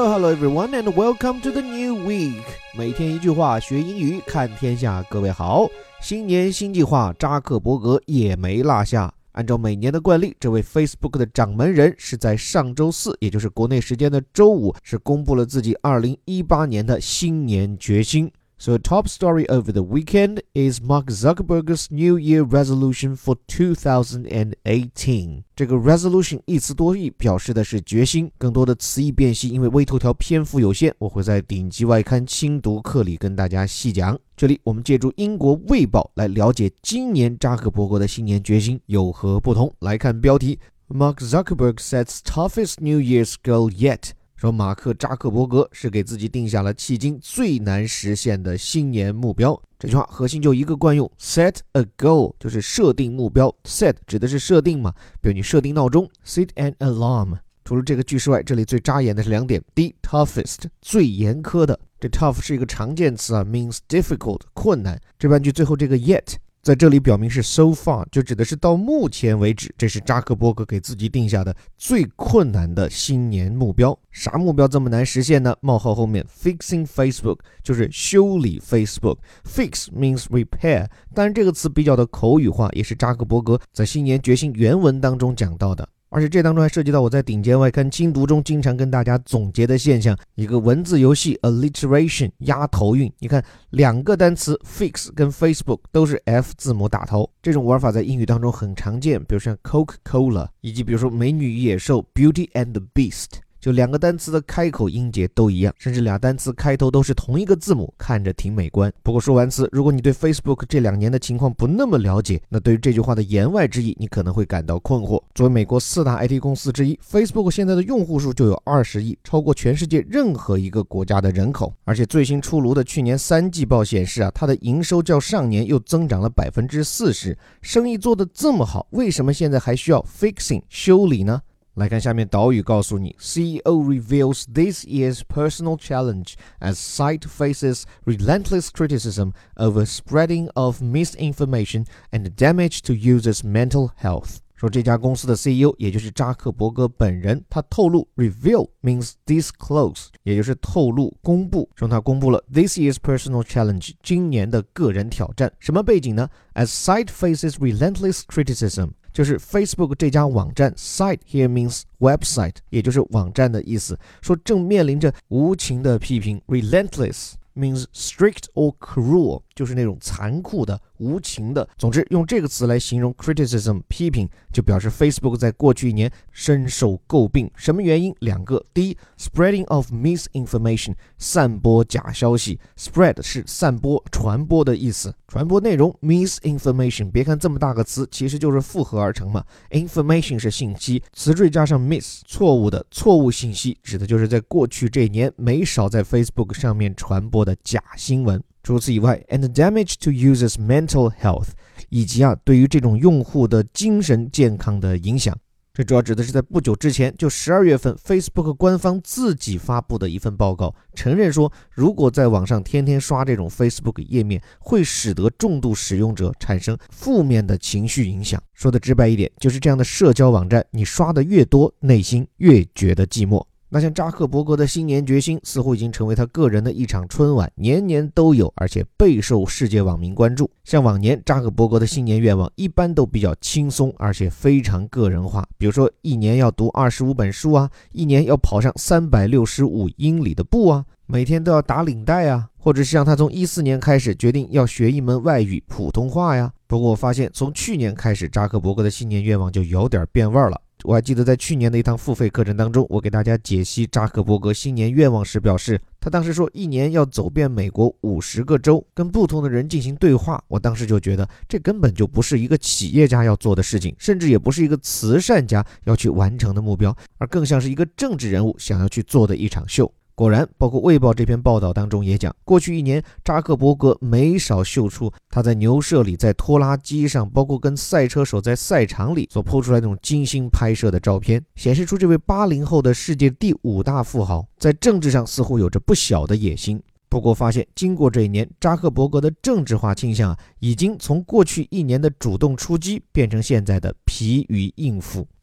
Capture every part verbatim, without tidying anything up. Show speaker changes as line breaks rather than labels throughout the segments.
Hello, hello everyone, and welcome to the new week. 每天一句话，学英语，看天下。各位好，新年新计划，扎克伯格也没落下。按照每年的惯例，这位 Facebook 的掌门人是在上周四，也就是国内时间的周五，是公布了自己二零一八年的新年决心。So a top story over the weekend is Mark Zuckerberg's New Year resolution for two thousand eighteen. 这个 resolution 一词多义，表示的是决心。更多的词义辨析，因为微头条篇幅有限，我会在顶级外刊精读课里跟大家细讲。这里我们借助英国卫报来了解今年扎克伯格的新年决心有何不同。来看标题 Mark Zuckerberg sets toughest New Year's goal yet.说马克扎克伯格是给自己定下了迄今最难实现的新年目标。这句话核心就一个惯用 set a goal 就是设定目标， set 指的是设定嘛，比如你设定闹钟 set an alarm。 除了这个句式外，这里最扎眼的是两点。第一 toughest 最严苛的，这 tough 是一个常见词啊 means difficult 困难。这半句最后这个 yet在这里表明是 so far， 就指的是到目前为止，这是扎克伯格给自己定下的最困难的新年目标。啥目标这么难实现呢？冒号后面 fixing Facebook 就是修理 Facebook， fix means repair， 当然这个词比较的口语化，也是扎克伯格在新年决心原文当中讲到的。而且这当中还涉及到我在顶尖外刊精读中经常跟大家总结的现象，一个文字游戏 alliteration 押头韵。你看两个单词 fix 跟 Facebook 都是 F 字母打头，这种玩法在英语当中很常见，比如像 Coca-Cola， 以及比如说美女与野兽 Beauty and the Beast，就两个单词的开口音节都一样，甚至俩单词开头都是同一个字母，看着挺美观。不过说完词，如果你对 Facebook 这两年的情况不那么了解，那对于这句话的言外之意，你可能会感到困惑。作为美国四大 I T 公司之一， Facebook 现在的用户数就有二十亿，超过全世界任何一个国家的人口。而且最新出炉的去年三季报显示啊，它的营收较上年又增长了 百分之四十， 生意做得这么好，为什么现在还需要 fixing 修理呢？来看下面导语告诉你 C E O reveals this year's personal challenge as site faces relentless criticism over spreading of misinformation and damage to users' mental health。 说这家公司的 C E O 也就是扎克伯格本人，他透露 reveal means disclose， 也就是透露公布，说他公布了 this year's personal challenge 今年的个人挑战。什么背景呢？ As site faces relentless criticism，就是 Facebook 这家网站 site here means website， 也就是网站的意思，说正面临着无情的批评。 Relentless means strict or cruel， 就是那种残酷的无情的。总之用这个词来形容 criticism 批评，就表示 Facebook 在过去一年深受诟病。什么原因？两个。第一 spreading of misinformation， 散播假消息。 spread 是散播传播的意思，传播内容 misinformation， 别看这么大个词，其实就是复合而成嘛。 information 是信息，词缀加上 miss 错误的错误信息，指的就是在过去这一年没少在 Facebook 上面传播的假新闻。除此以外 and damage to users' mental health， 以及啊对于这种用户的精神健康的影响。这主要指的是在不久之前，就十二月份 Facebook 官方自己发布的一份报告，承认说如果在网上天天刷这种 Facebook 页面，会使得重度使用者产生负面的情绪影响。说的直白一点，就是这样的社交网站，你刷的越多，内心越觉得寂寞。那像扎克伯格的新年决心似乎已经成为他个人的一场春晚，年年都有，而且备受世界网民关注。像往年扎克伯格的新年愿望一般都比较轻松，而且非常个人化，比如说一年要读二十五本书啊，一年要跑上三百六十五英里的步啊，每天都要打领带啊，或者是像他从一四年开始决定要学一门外语普通话呀。不过我发现从去年开始，扎克伯格的新年愿望就有点变味了。我还记得在去年的一堂付费课程当中，我给大家解析扎克伯格新年愿望时表示，他当时说一年要走遍美国五十个州，跟不同的人进行对话。我当时就觉得这根本就不是一个企业家要做的事情，甚至也不是一个慈善家要去完成的目标，而更像是一个政治人物想要去做的一场秀。果然，包括《卫报》这篇报道当中也讲，过去一年扎克伯格没少秀出他在牛舍里、在拖拉机上，包括跟赛车手在赛场里所抛出来那种精心拍摄的照片，显示出这位八零后的世界第五大富豪在政治上似乎有着不小的野心。不过发现经过这一年，扎克伯格的政治化倾向啊，已经从过去一年的主动出击变成现在的疲于应付。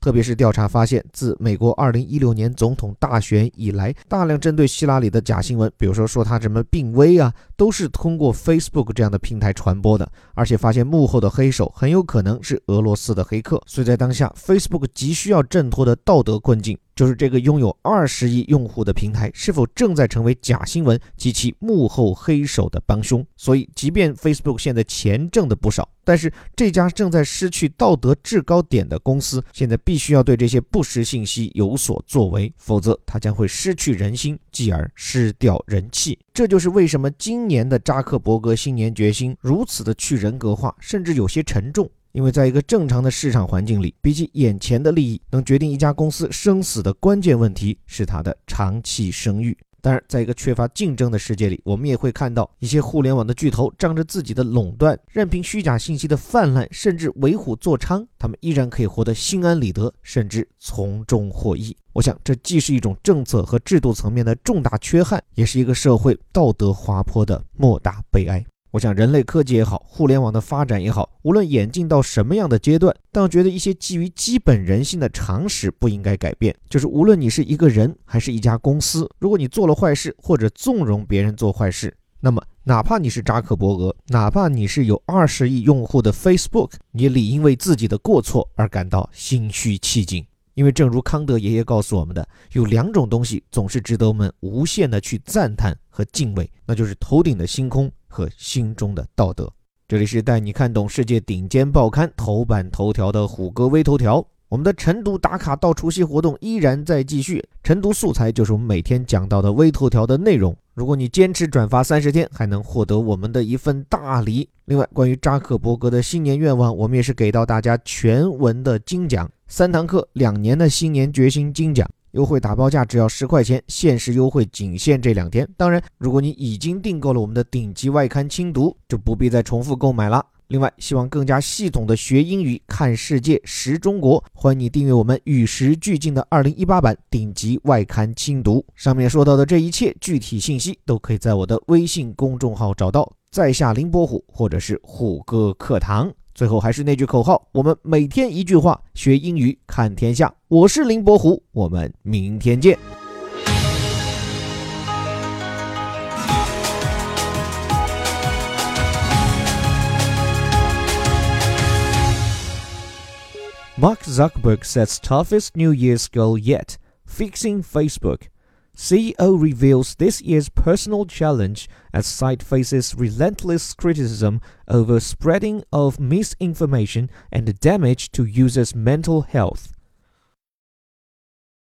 特别是调查发现，自美国二零一六年总统大选以来，大量针对希拉里的假新闻，比如说说他什么病危啊，都是通过 Facebook 这样的平台传播的，而且发现幕后的黑手很有可能是俄罗斯的黑客。所以在当下 Facebook 急需要挣脱的道德困境，就是这个拥有二十亿用户的平台是否正在成为假新闻及其幕后黑手的帮凶。所以即便 Facebook 现在钱挣的不少，但是这家正在失去道德制高点的公司现在必须要对这些不实信息有所作为，否则它将会失去人心，继而失掉人气。这就是为什么今年的扎克伯格新年决心如此的去人格化，甚至有些沉重。因为在一个正常的市场环境里，比起眼前的利益，能决定一家公司生死的关键问题是它的长期声誉。当然，在一个缺乏竞争的世界里，我们也会看到一些互联网的巨头仗着自己的垄断，任凭虚假信息的泛滥，甚至为虎作伥，他们依然可以活得心安理得，甚至从中获益。我想，这既是一种政策和制度层面的重大缺憾，也是一个社会道德滑坡的莫大悲哀。我想人类科技也好，互联网的发展也好，无论演进到什么样的阶段，但我觉得一些基于基本人性的常识不应该改变。就是无论你是一个人还是一家公司，如果你做了坏事或者纵容别人做坏事，那么哪怕你是扎克伯格，哪怕你是有二十亿用户的 Facebook， 你也理应为自己的过错而感到心虚气紧。因为正如康德爷爷告诉我们的，有两种东西总是值得我们无限的去赞叹和敬畏，那就是头顶的星空和心中的道德。这里是带你看懂世界顶尖报刊头版头条的虎哥微头条。我们的晨读打卡到除夕活动依然在继续，晨读素材就是我们每天讲到的微头条的内容。如果你坚持转发三十天，还能获得我们的一份大礼。另外，关于扎克伯格的新年愿望，我们也是给到大家全文的精讲，三堂课，两年的新年决心精讲，优惠打包价只要十块钱，限时优惠仅限这两天。当然，如果你已经订购了我们的顶级外刊精读，就不必再重复购买了。另外，希望更加系统的学英语、看世界、识中国，欢迎你订阅我们与时俱进的二零一八版顶级外刊精读。上面说到的这一切具体信息都可以在我的微信公众号找到，在下林伯虎或者是虎哥课堂。最后还是那句口号，我们每天一句话，学英语看天下。我是林伯虎，我们明天见。Mark Zuckerberg sets toughest New Year's goal yet, fixing Facebook. C E O reveals this year's personal challenge as site faces relentless criticism over spreading of misinformation and damage to users' mental health.